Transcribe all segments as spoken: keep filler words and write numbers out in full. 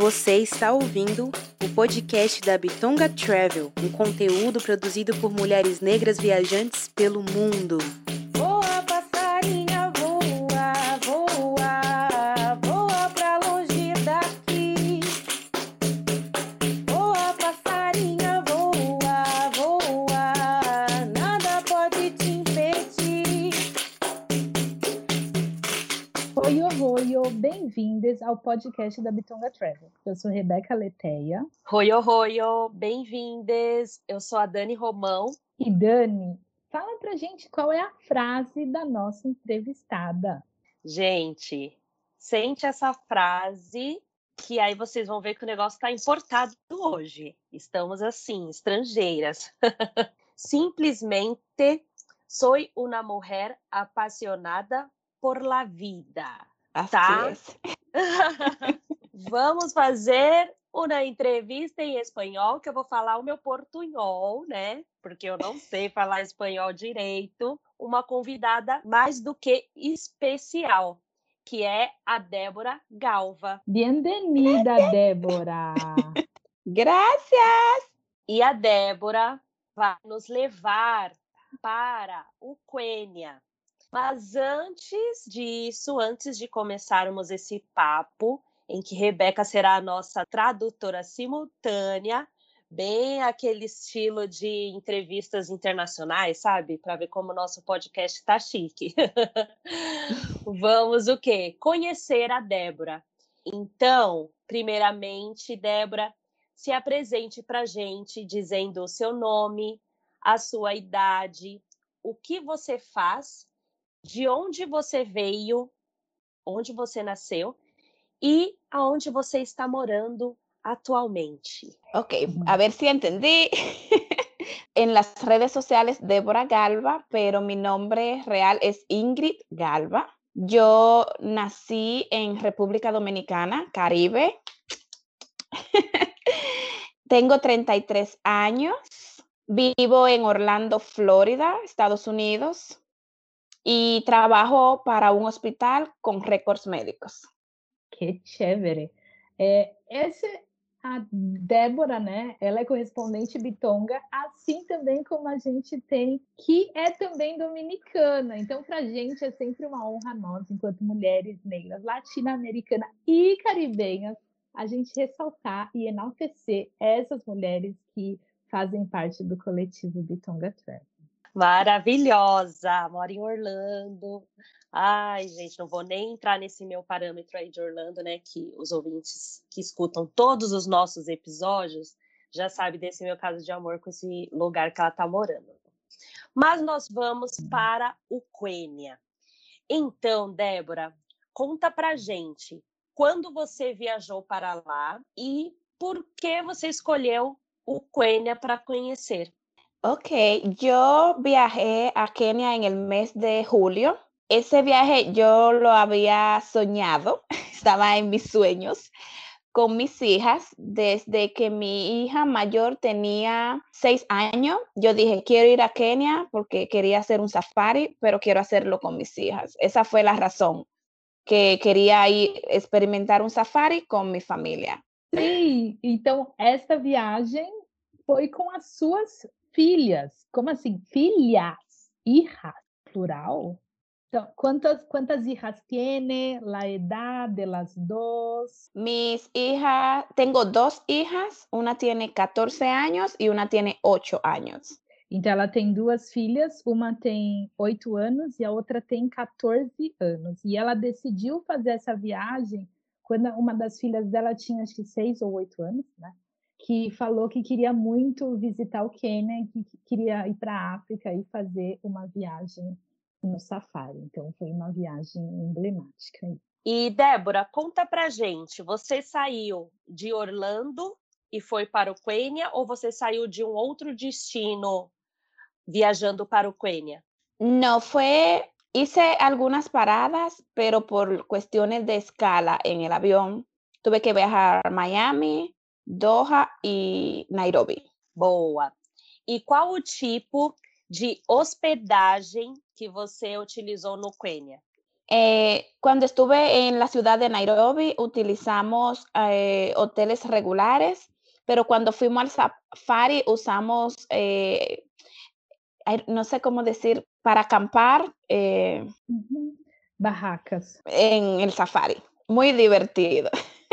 Você está ouvindo o podcast da Bitonga Travel, um conteúdo produzido por mulheres negras viajantes pelo mundo. Voa, passarinha, voa, voa, voa pra longe daqui. Voa, passarinha, voa, voa, nada pode te impedir. Oi, oi, oi, bem-vindos ao podcast da Bitonga Travel. Eu sou Rebeca Leteia. Oi, oi, oi, bem-vindes. Eu sou a Dani Romão. E Dani, fala pra gente qual é a frase da nossa entrevistada. Gente, sente essa frase que aí vocês vão ver que o negócio está importado hoje. Estamos assim, estrangeiras. Simplesmente soy una mujer apasionada por la vida. Tá? Así es. Vamos fazer uma entrevista em espanhol, que eu vou falar o meu portunhol, né? Porque eu não sei falar espanhol direito. Uma convidada mais do que especial, que é a Débora Galva. Bem-vinda, Débora! Gracias. E a Débora vai nos levar para o Quênia. Mas antes disso, antes de começarmos esse papo, em que Rebeca será a nossa tradutora simultânea, bem aquele estilo de entrevistas internacionais, sabe? Para ver como o nosso podcast está chique. Vamos o quê? Conhecer a Débora. Então, primeiramente, Débora, se apresente para a gente dizendo o seu nome, a sua idade, o que você faz, de onde você veio, onde você nasceu e aonde você está morando atualmente. Ok, a ver si entendí. En las redes sociales, Débora Galva, pero mi nombre real es Ingrid Galva. Yo nací en República Dominicana, Caribe. Tengo treinta y tres años. Vivo en Orlando, Florida, Estados Unidos. Y trabajo para un hospital con récords médicos. Que chévere! É, essa, a Débora, né? Ela é correspondente bitonga, assim também como a gente tem, que é também dominicana. Então, para a gente é sempre uma honra nós, enquanto mulheres negras, latino-americanas e caribenhas, a gente ressaltar e enaltecer essas mulheres que fazem parte do coletivo Bitonga Travel. Maravilhosa! Moro em Orlando. Ai, gente, não vou nem entrar nesse meu parâmetro aí de Orlando, né? Que os ouvintes que escutam todos os nossos episódios já sabem desse meu caso de amor com esse lugar que ela está morando. Mas nós vamos para o Quênia. Então, Débora, conta pra gente quando você viajou para lá e por que você escolheu o Quênia para conhecer. Ok, yo viajé a Kenia en el mes de julio. Ese viaje yo lo había soñado, estaba en mis sueños con mis hijas. Desde que mi hija mayor tenía seis años, yo dije, quiero ir a Kenia porque quería hacer un safari, pero quiero hacerlo con mis hijas. Esa fue la razón, que quería ir experimentar un safari con mi familia. Sim, então essa viagem foi com as suas filhas. Como assim? Filhas? Hijas? Plural? Então, ¿cuántas, cuántas hijas tiene? La edad de las dos? Mis hijas, tengo dos hijas, una tiene catorce años y una tiene ocho años. Então, ela tem duas filhas, uma tem oito anos e a outra tem catorze anos. E ela decidiu fazer essa viagem quando uma das filhas dela tinha, acho que seis ou oito anos, né? Que falou que queria muito visitar o Quênia e que queria ir para a África e fazer uma viagem no safari. Então, foi uma viagem emblemática. E, Débora, conta pra gente, você saiu de Orlando e foi para o Quênia ou você saiu de um outro destino viajando para o Quênia? No, fue, hice algunas paradas, pero por cuestiones de escala en el avión, tuve que viajar a Miami, Doha e Nairobi. Boa! E qual o tipo de hospedagem que você utilizou no Quênia? Eh, cuando estuve en la ciudad de Nairobi, utilizamos eh, hoteles regulares, pero cuando fuimos al safari usamos, eh, ay, no sé cómo decir, para acampar eh, Uhum. Barracas. en el safari. Muy divertido.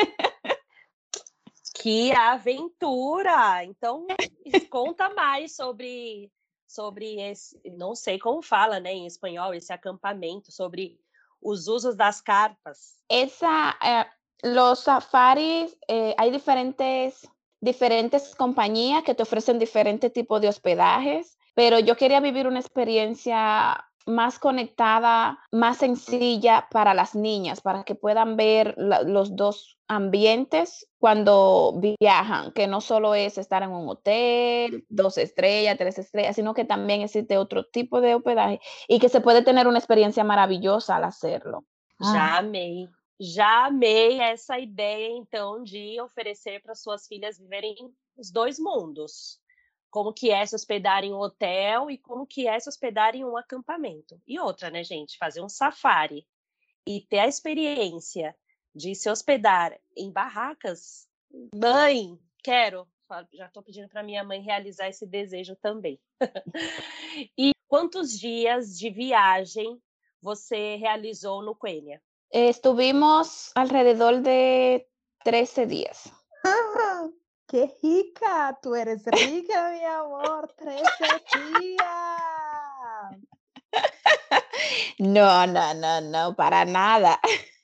Que aventura! Então, conta mais sobre, sobre esse, não sei como fala, né, em espanhol, esse acampamento, sobre os usos das carpas. Esa, eh, los safaris, eh, hay diferentes, diferentes compañías que te ofrecen diferentes tipos de hospedajes, pero yo quería vivir una experiencia más conectada, más sencilla para las niñas, para que puedan ver la- los dos ambientes cuando viajan, que no solo es estar en un hotel, dos estrellas, tres estrellas, sino que también existe otro tipo de hospedaje y que se puede tener una experiencia maravillosa al hacerlo. Ah, Já amei, já amei essa ideia, então, de oferecer para suas filhas viverem os dois mundos. Como que é se hospedar em um hotel e como que é se hospedar em um acampamento. E outra, né, gente, fazer um safari e ter a experiência de se hospedar em barracas. Mãe, quero. Já estou pedindo para minha mãe realizar esse desejo também. E quantos dias de viagem você realizou no Quênia? Eh, Estuvimos alrededor de trece días. que rica! Tu eres rica, mi amor. trece dias! No, no, no, no, para nada.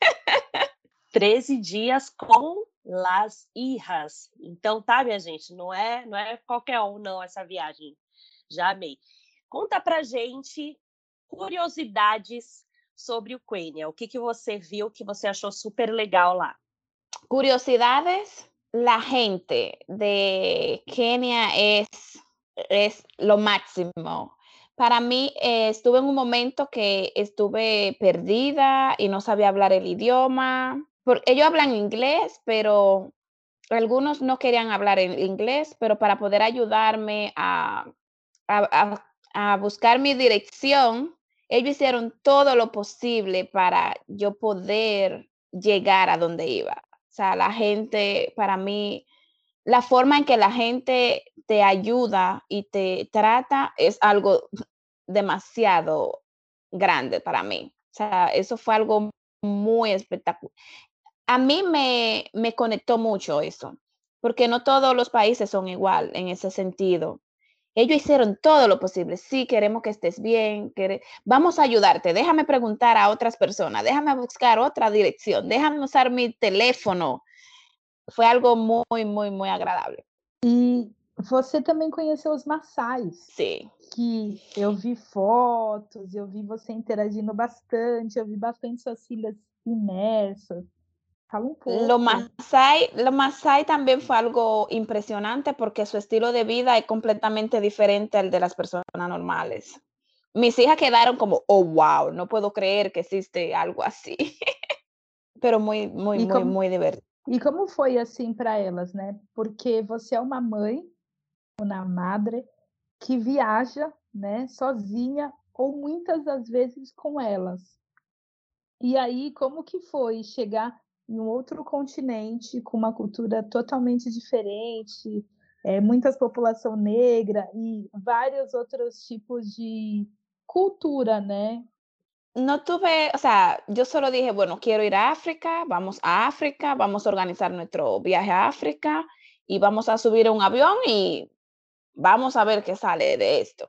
treze dias com las hijas. Então, tá, minha gente, não é, não é qualquer um, não, essa viagem. Já amei. Conta pra gente curiosidades sobre o Quênia. O que, que você viu que você achou super legal lá? Curiosidades, la gente de Kenia es, es lo máximo. Para mí, eh, estuve en un momento que estuve perdida y no sabía hablar el idioma. Por, ellos hablan inglés, pero algunos no querían hablar en inglés, pero para poder ayudarme a, a, a, a buscar mi dirección, ellos hicieron todo lo posible para yo poder llegar a donde iba. O sea, la gente, para mí, la forma en que la gente te ayuda y te trata es algo demasiado grande para mí. O sea, eso fue algo muy espectacular. A mí me, me conectó mucho eso, porque no todos los países son igual en ese sentido. Ellos hicieron todo lo posible. Sí, queremos que estés bien. Quere... Vamos a ayudarte. Déjame preguntar a otras personas. Déjame buscar otra dirección. Déjame usar mi teléfono. Foi algo muy, muy, muy agradable. E você também conheceu os Maçais, Sim. que eu vi fotos, eu vi você interagindo bastante, eu vi bastante suas filhas imersas. Fala um pouco. Lo Masai, lo Masai también fue algo impresionante porque su estilo de vida es completamente diferente al de las personas normales. Mis hijas quedaron como, oh, wow, no puedo creer que existe algo así. Pero muy, muy, E muy, como, muy divertido. e como foi assim para elas, né? Porque você é uma mãe, uma madre, que viaja, né, sozinha ou muitas das vezes com elas. E aí, como que foi chegar em um outro continente com uma cultura totalmente diferente, é, muitas população negra e vários outros tipos de cultura, né? No tuve, o sea, yo solo dije, bueno, quiero ir a África, vamos a África, vamos a organizar nuestro viaje a África y vamos a subir a un avión y vamos a ver qué sale de esto.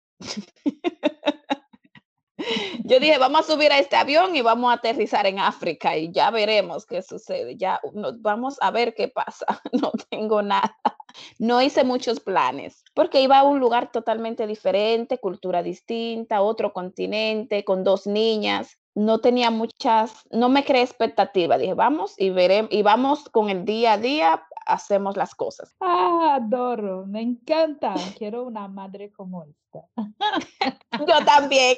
Yo dije, vamos a subir a este avión y vamos a aterrizar en África y ya veremos qué sucede. Ya nos vamos a ver qué pasa. No tengo nada. No hice muchos planes porque iba a un lugar totalmente diferente, cultura distinta, otro continente, con dos niñas. No tenía muchas, no me creé expectativa. Dije, vamos y veremos, y vamos con el día a día, hacemos las cosas. Ah, adoro, me encanta. Quiero una madre como esta. Yo también.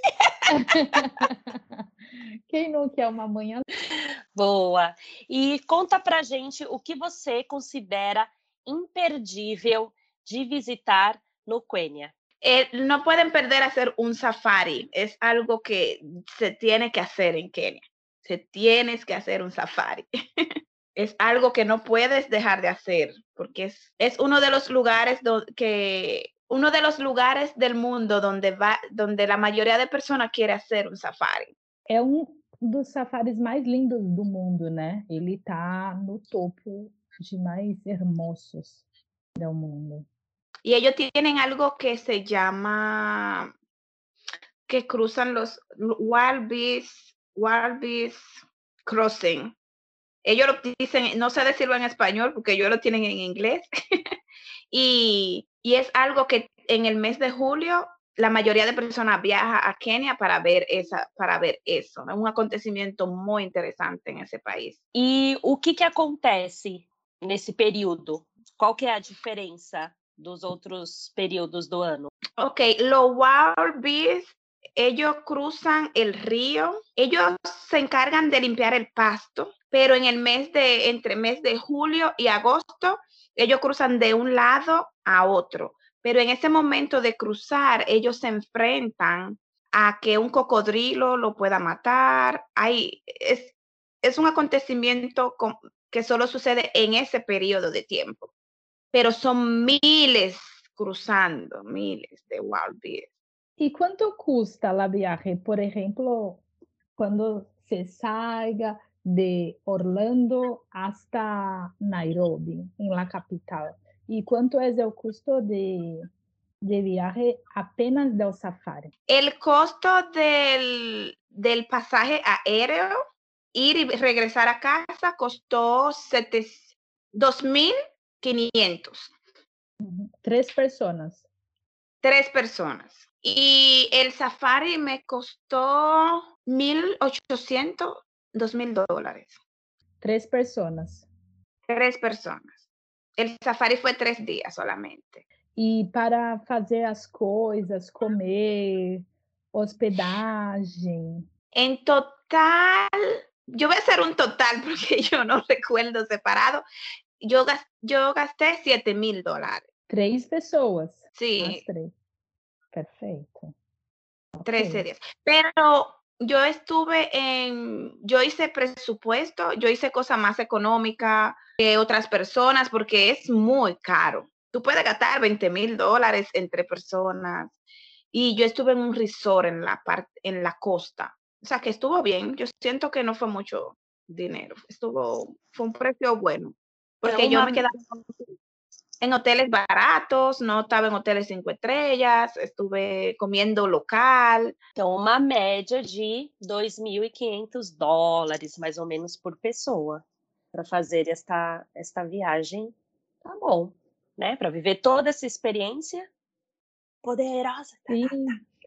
Quem não quer uma mãe assim? Boa! E conta pra gente o que você considera imperdível de visitar no Quênia. Eh, no pueden perder hacer un safari. Es algo que se tiene que hacer en Kenia. Se tienes que hacer un safari. Es algo que no puedes dejar de hacer, porque es, es uno de los lugares do, que uno de los lugares del mundo donde va, donde la mayoría de personas quiere hacer un safari. É um dos safaris mais lindos do mundo, né? Ele tá no topo de mais hermosos do mundo. Y ellos tienen algo que se llama que cruzan los Wild Beast, Wild Beast Crossing. Ellos lo dicen, no sé decirlo en español porque ellos lo tienen en inglés. y, y es algo que en el mes de julio la mayoría de personas viaja a Kenia para ver, esa, para ver eso. É um acontecimento muito interessante nesse país. E o que, que acontece nesse período? Qual que é a diferença dos outros períodos do ano? Ok, los Wild Beasts, ellos cruzan el río, ellos se encargan de limpiar el pasto, pero en el mes de, entre mes de julio y agosto, ellos cruzan de un lado a otro. Pero en ese momento de cruzar, ellos se enfrentan a que un cocodrilo lo pueda matar. Hay, es, es un acontecimiento con, que solo sucede en ese periodo de tiempo. Pero son miles cruzando, miles de wild beasts. E quanto custa la viaje? Por exemplo, quando se salga de Orlando hasta Nairobi, em la capital. ¿Y cuánto es el costo de, de viaje apenas del safari? El costo del, del pasaje aéreo, ir y regresar a casa, costó dos mil quinientos. Uhum. Tres personas. Tres personas. Y el safari me costó mil ochocientos, dos mil dólares. Tres personas. Tres personas. El safari fue tres días solamente. E para fazer as coisas, comer, hospedagem. En total, yo voy a hacer un total porque yo no recuerdo separado. Yo, yo gasté siete mil dólares. Três pessoas. Sí. As três. Perfeito. trece okay. días. Pero yo estuve en, yo hice presupuesto, yo hice cosas más económicas que otras personas porque es muy caro. Tú puedes gastar veinte mil dólares entre personas. Y yo estuve en un resort en la parte, en la costa. O sea, que estuvo bien. Yo siento que no fue mucho dinero. Estuvo, fue un precio bueno. Porque Então, yo uma... me quedaba en hoteles baratos, no estaba en hoteles cinco estrellas, estuve comiendo local. Então, uma média de dois mil e quinhentos dólares, mais ou menos, por pessoa, para fazer esta, esta viagem. Tá bom, né? Para viver toda essa experiência poderosa. Sim.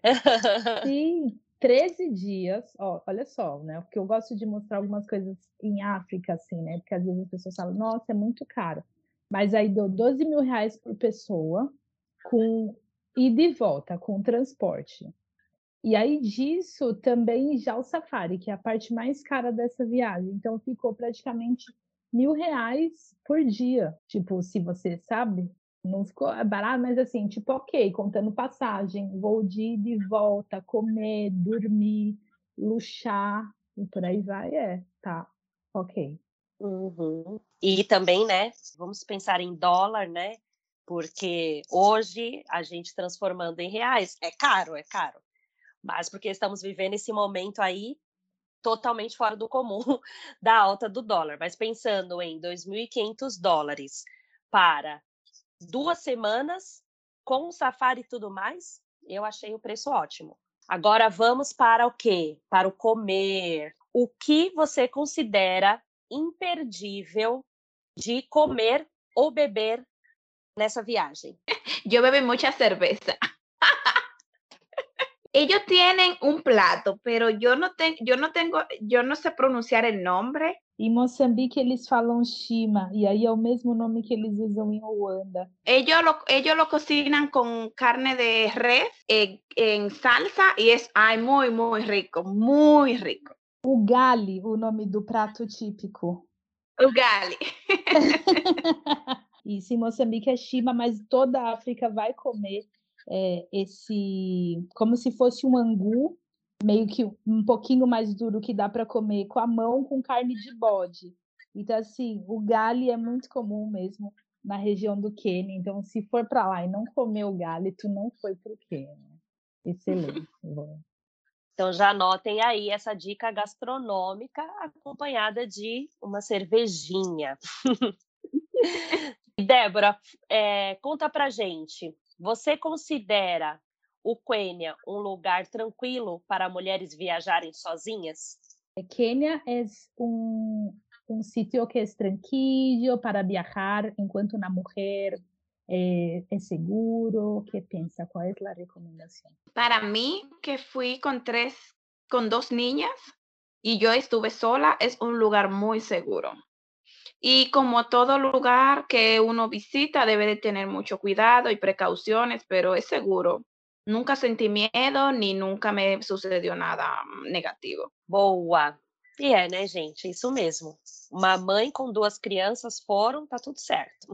Sim. treze dias, ó, olha só, né? Porque eu gosto de mostrar algumas coisas em África, assim, né? Porque às vezes as pessoas falam, nossa, é muito caro. Mas aí deu doze mil reais por pessoa, com ida e volta, com transporte. E aí disso também já o safari, que é a parte mais cara dessa viagem. Então ficou praticamente mil reais por dia. Tipo, se você sabe, não ficou barato, mas assim, tipo, ok, contando passagem, voo de ida e volta, comer, dormir, luxar, e por aí vai, é, tá, ok. Uhum. E também, né, vamos pensar em dólar, né, porque hoje a gente transformando em reais, é caro, é caro, mas porque estamos vivendo esse momento aí totalmente fora do comum da alta do dólar, mas pensando em dois mil e quinhentos dólares para duas semanas, com safari e tudo mais, eu achei o preço ótimo. Agora vamos para o quê? Para o comer. O que você considera imperdível de comer ou beber nessa viagem? Yo bebí mucha cerveza. Ellos tienen un plato, pero yo no, te, yo no tengo, yo no sé pronunciar el nombre. Em Moçambique eles falam chima, e aí é o mesmo nome que eles usam em Ruanda. Ellos lo, ellos lo cocinan con carne de res en, en salsa y es ay, muy, muy rico, muy rico. Ugali, o nome do prato típico. Ugali. Isso, em Moçambique é chima, mas toda a África vai comer é, esse, como se fosse um angu, meio que um pouquinho mais duro que dá para comer com a mão com carne de bode. Então, assim, o gali é muito comum mesmo na região do Quênia. Então, se for para lá e não comer o gali, tu não foi para o Quênia. Excelente. Bom. Então já anotem aí essa dica gastronômica acompanhada de uma cervejinha. Débora, é, conta pra gente, você considera o Quênia um lugar tranquilo para mulheres viajarem sozinhas? Quênia é um, um sitio que é tranquilo para viajar enquanto uma mulher é, é seguro. ¿Qué piensa? ¿Cuál es la recomendación? Para mí, que fui con tres, con dos niñas y yo estuve sola, es un lugar muy seguro. Y como todo lugar que uno visita, debe de tener mucho cuidado y precauciones, pero es seguro. Nunca sentí miedo ni nunca me sucedió nada negativo. Boa! E é, né, gente? Isso mesmo. Uma mãe com duas crianças foram, tá tudo certo.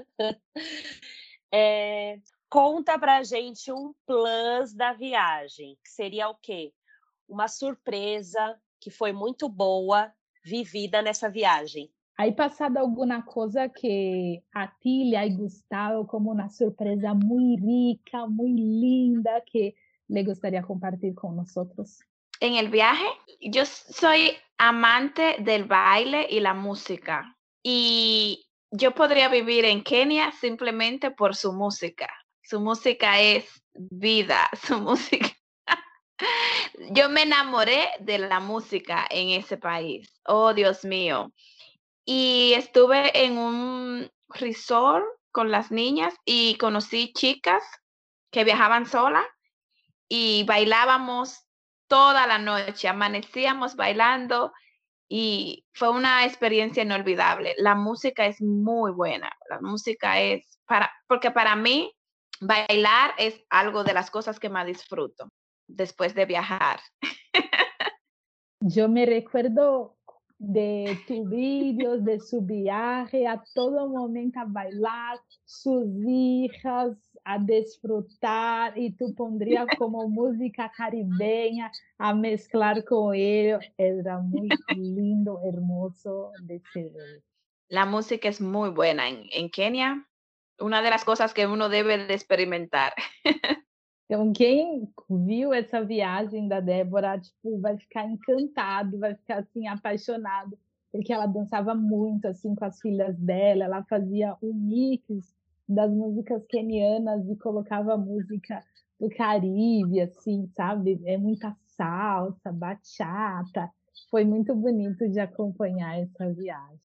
É, conta pra gente um plus da viagem, que seria o quê? Uma surpresa que foi muito boa vivida nessa viagem. ¿Hay pasado alguna cosa que a ti le haya gustado como una sorpresa muy rica, muy linda, que le gustaría compartir con nosotros? En el viaje, yo soy amante del baile y la música. Y yo podría vivir en Kenia simplemente por su música. Su música es vida, su música. Yo me enamoré de la música en ese país. Oh, Dios mío. Y estuve en un resort con las niñas y conocí chicas que viajaban solas y bailábamos toda la noche, amanecíamos bailando y fue una experiencia inolvidable. La música es muy buena, la música es para, porque para mí bailar es algo de las cosas que más disfruto después de viajar. Yo me recuerdo de tus vídeos, de su viaje, a todo momento a bailar, sus hijas a disfrutar, y tú pondrías como música caribeña a mezclar con ellos. Era muy lindo, hermoso de se ver. La música es muy buena en, en Kenia, una de las cosas que uno debe de experimentar. Então, quem viu essa viagem da Débora, tipo, vai ficar encantado, vai ficar assim apaixonado, porque ela dançava muito assim com as filhas dela, ela fazia um mix das músicas quenianas e colocava música do Caribe, assim, sabe? É muita salsa, bachata. Foi muito bonito de acompanhar essa viagem.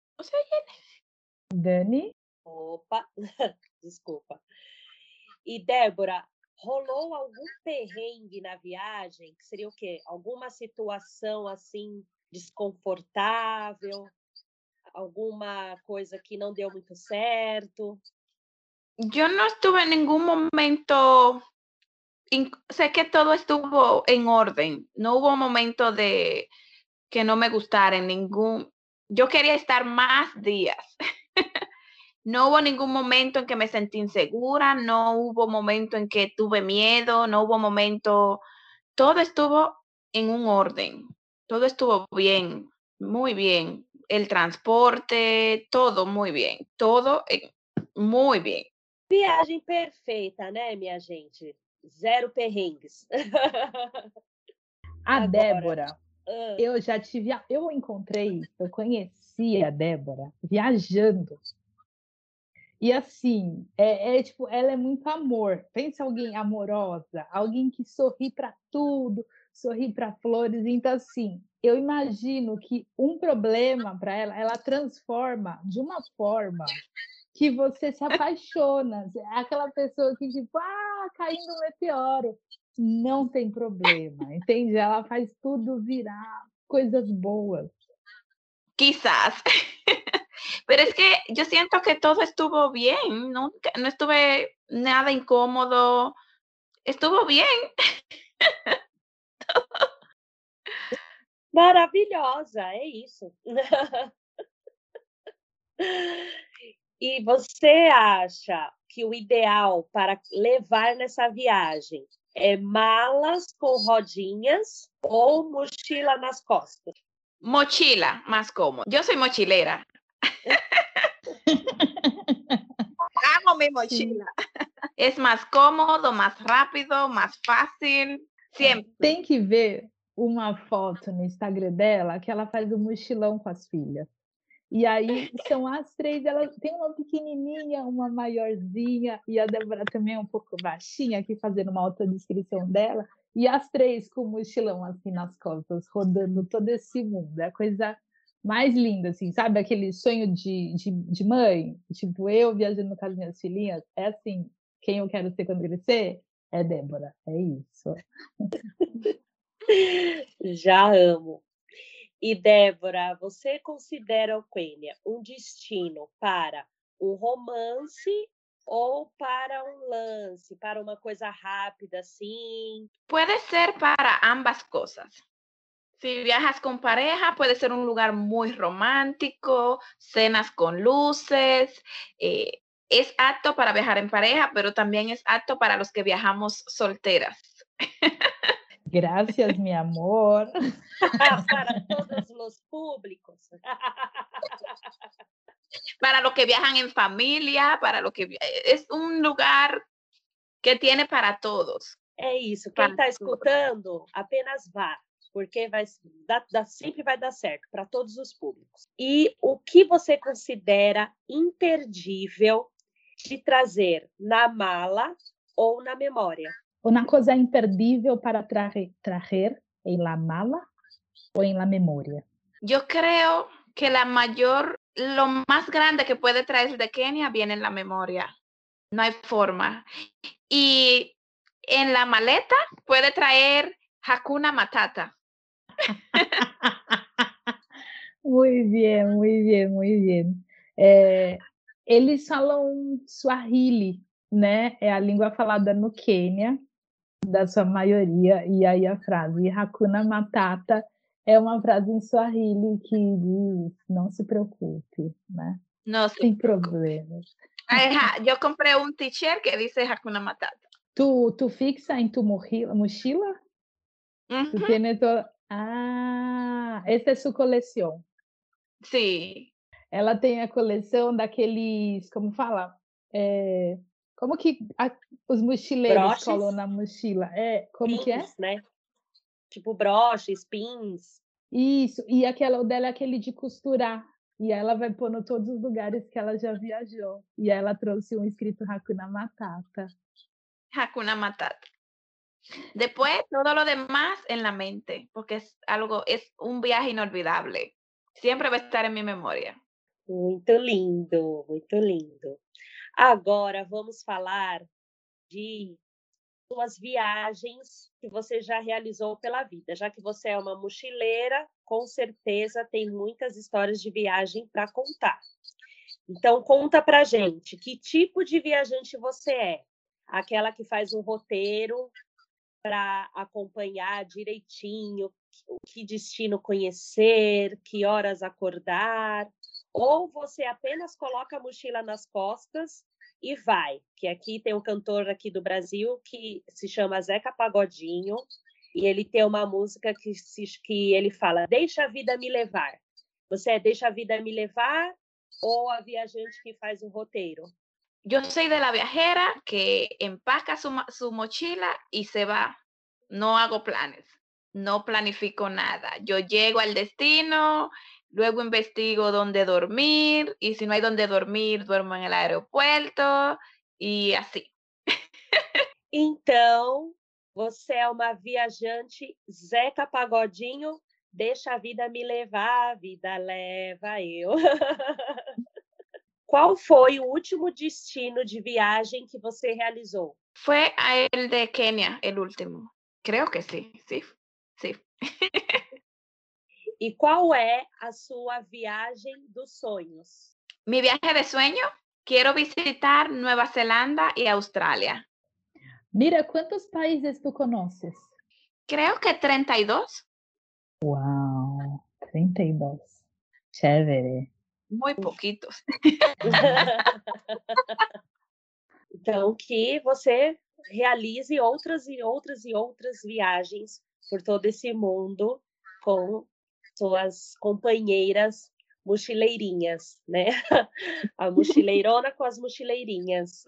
Dani? Opa, desculpa. E Débora, rolou algum perrengue na viagem? Que seria o quê? Alguma situação assim desconfortável? Alguma coisa que não deu muito certo? Yo no estuve en ningún momento, in- sé que todo estuvo en orden, no hubo momento de que no me gustara en ningún, yo quería estar más días. No hubo ningún momento en que me sentí insegura, no hubo momento en que tuve miedo, no hubo momento, todo estuvo en un orden, todo estuvo bien, muy bien. El transporte, todo muy bien, todo eh, muy bien. Viagem perfeita, né, minha gente? Zero perrengues. A Agora, Débora, ah, eu já tive, a- eu encontrei, eu conheci a Débora viajando. E assim, é, é, tipo, ela é muito amor. Pensa alguém amorosa, alguém que sorri para tudo, sorri para flores. Então, assim, eu imagino que um problema para ela, ela transforma de uma forma que você se apaixona. É aquela pessoa que, tipo, ah, caindo um meteoro. Não tem problema, entende? Ela faz tudo virar coisas boas. Quizás. Pero es que yo siento que todo estuvo bien, no, no estuve nada incómodo, estuvo bien. maravilhosa, é isso. E você acha que o ideal para levar nessa viagem é malas com rodinhas ou mochila nas costas? Mochila, más cómodo. Yo soy mochilera. Amo mi mochila. Es más cómodo, más rápido, más fácil. Sempre. Tem que ver uma foto no Instagram dela que ela faz um mochilão com as filhas. E aí são as três, ela tem uma pequenininha, uma maiorzinha, e a Débora também é um pouco baixinha, aqui fazendo uma autodescrição dela, e as três com o mochilão assim nas costas, rodando todo esse mundo. É a coisa mais linda, assim, sabe? Aquele sonho de, de, de mãe, tipo, eu viajando com as minhas filhinhas, é assim, quem eu quero ser quando crescer é Débora, é isso. Já amo. E, Débora, você considera o Quênia um destino para um romance ou para um lance, para uma coisa rápida, assim? Puede ser para ambas cosas. Si viajas con pareja, puede ser un lugar muy romántico, cenas con luces. Eh, es apto para viajar en pareja, pero también es apto para los que viajamos solteras. Gracias, mi amor. Para todos los públicos. Para los que viajan en familia, para los que es un lugar que tiene para todos. É isso. Quem está escutando, apenas vá, porque vai, dá, dá, sempre vai dar certo para todos os públicos. E o que você considera imperdível de trazer na mala ou na memória? Una cosa imperdível para traer, traer en la mala o en la memoria. Yo creo que la mayor, lo más grande que puede traer de Kenia viene en la memoria. No hay forma. Y en la maleta puede traer Hakuna Matata. Muy bien, muy bien, muy bien. É, eles falam Swahili, né? É a língua falada no Quênia, da sua maioria, e aí a frase Hakuna Matata é uma frase em Swahili que diz não se preocupe, né? No se Sem preocupe. problemas. Ajá, yo compré un t-shirt que dice Hakuna Matata. Tu, tu fixa em tu mochila? mochila? Uh-huh. Tu tienes todo... Ah, essa é sua coleção. Sim. Ela tem a coleção daqueles, como fala? É, como que a, os mochileiros Broches? colam na mochila? É, como Pins, que é? Né? Tipo broches, pins. Isso, e aquela, o dela é aquele de costurar. E ela vai pôr em todos os lugares que ela já viajou. E ela trouxe um escrito Hakuna Matata. Hakuna Matata. Después, todo lo demás en la mente, porque es algo, es un viaje inolvidable. Siempre va a estar en mi memoria. Muito lindo, muito lindo. Agora vamos falar de suas viagens que você já realizou pela vida. Já que você é uma mochileira, com certeza tem muitas histórias de viagem para contar. Então, conta pra gente, que tipo de viajante você é? Aquela que faz um roteiro para acompanhar direitinho que destino conhecer, que horas acordar, ou você apenas coloca a mochila nas costas e vai, que aqui tem um cantor aqui do Brasil que se chama Zeca Pagodinho, e ele tem uma música que, se, que ele fala, deixa a vida me levar. Você é deixa a vida me levar ou a viajante que faz um roteiro? Yo soy de la viajera que empaca su, su mochila y se va. No hago planes, no planifico nada. Yo llego al destino, luego investigo dónde dormir y si no hay dónde dormir, duermo en el aeropuerto y así. Então, você é uma viajante Zeca Pagodinho, deixa a vida me levar, a vida leva eu. Qual foi o último destino de viagem que você realizou? Fue el de Kenia, el último. Creo que sí, sí, sí. E qual é a sua viagem dos sonhos? Mi viaje de sueño, quiero visitar Nueva Zelanda y Australia. Mira, quantos países tu conoces? Creo que treinta y dos. Uau, trinta e dois. Chévere. Muy poquitos. Então, que você realize outras e outras e outras viagens por todo esse mundo com suas companheiras mochileirinhas, né? A mochileirona com as mochileirinhas.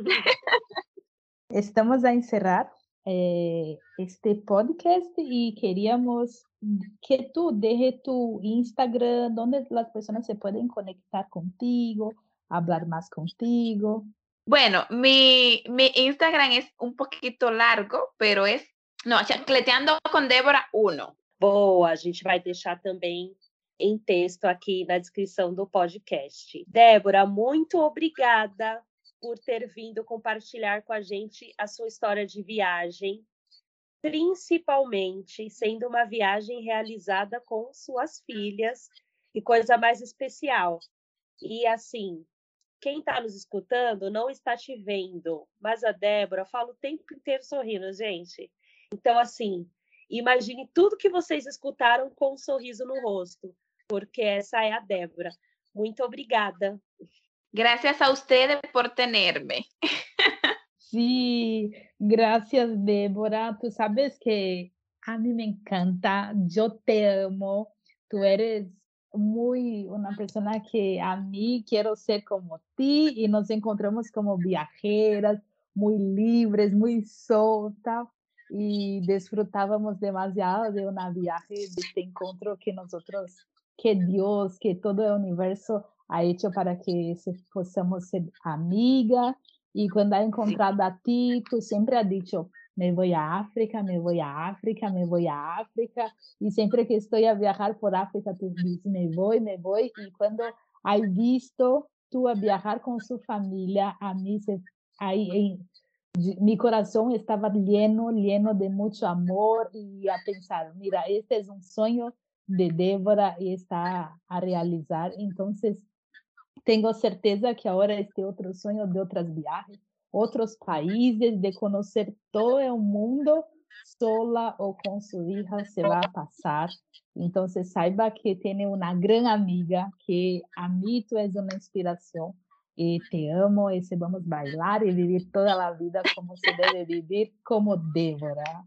Estamos a encerrar eh, este podcast y queríamos que tú dejes tu Instagram, donde las personas se pueden conectar contigo, hablar más contigo. Bueno, mi, mi Instagram es un poquito largo, pero es, no, Chancleteando com Débora uno. Boa, a gente vai deixar também em texto aqui na descrição do podcast. Débora, muito obrigada por ter vindo compartilhar com a gente a sua história de viagem, principalmente sendo uma viagem realizada com suas filhas, e coisa mais especial. E assim, quem está nos escutando não está te vendo, mas a Débora fala o tempo inteiro sorrindo, gente. Então, assim, imagine tudo que vocês escutaram com um sorriso no rosto, porque essa é a Débora. Muito obrigada. Gracias a ustedes por tenerme. Sí, gracias, Débora. Tú sabes que a mí me encanta, yo te amo, tú eres muy una persona que a mí quiero ser como ti y nos encontramos como viajeras, muy libres, muy soltas y disfrutábamos demasiado de una viaje, de este encuentro que nosotros, que Dios, que todo el universo ha hecho para que se, possamos ser amigas. Y cuando ha encontrado a ti, tú siempre has dicho, me voy a África, me voy a África, me voy a África. Y siempre que estoy a viajar por África, tú dices, me voy, me voy. Y cuando has visto tú a viajar con su familia, a mí se, ahí, en, mi corazón estaba lleno, lleno de mucho amor y a pensar, mira, este es un sueño de Débora y está a realizar. Entonces, tengo certeza que ahora este otro sueño de otras viajes, otros países, de conocer todo el mundo sola o con su hija se va a pasar. Entonces, saiba que tiene una gran amiga, que a mí tú es una inspiración. Y te amo, y se vamos a bailar y vivir toda la vida como se debe vivir, como Débora.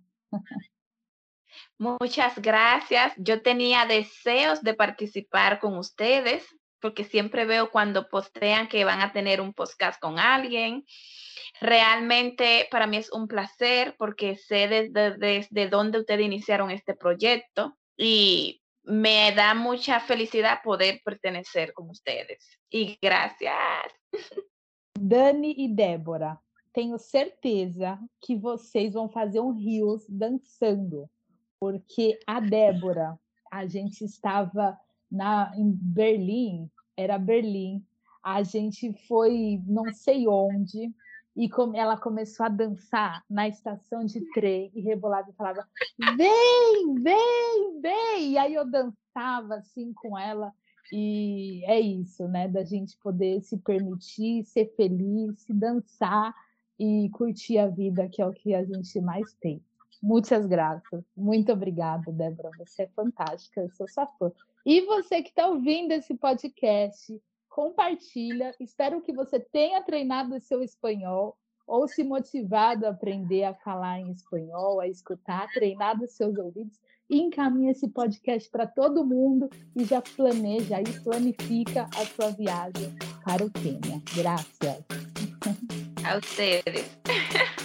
Muchas gracias. Yo tenía deseos de participar con ustedes, porque siempre veo cuando postean que van a tener un podcast con alguien. Realmente para mí es un placer porque sé desde, desde dónde ustedes iniciaron este proyecto y me da mucha felicidad poder pertenecer con ustedes. Y gracias. Dani e Débora, tenho certeza que vocês vão fazer um Reels dançando, porque a Débora, a gente estava na, em Berlim, era Berlim, a gente foi não sei onde, e como ela começou a dançar na estação de trem e rebolava e falava, vem, vem, vem! E aí eu dançava assim com ela, e é isso, né? Da gente poder se permitir, ser feliz, se dançar e curtir a vida, que é o que a gente mais tem. Muitas graças. Muito obrigada, Débora. Você é fantástica. Eu sou sua fã. E você que está ouvindo esse podcast, compartilha. Espero que você tenha treinado o seu espanhol ou se motivado a aprender a falar em espanhol, a escutar, treinado os seus ouvidos e encaminha esse podcast para todo mundo e já planeja e planifica a sua viagem para o Quênia. Graças. A ustedes.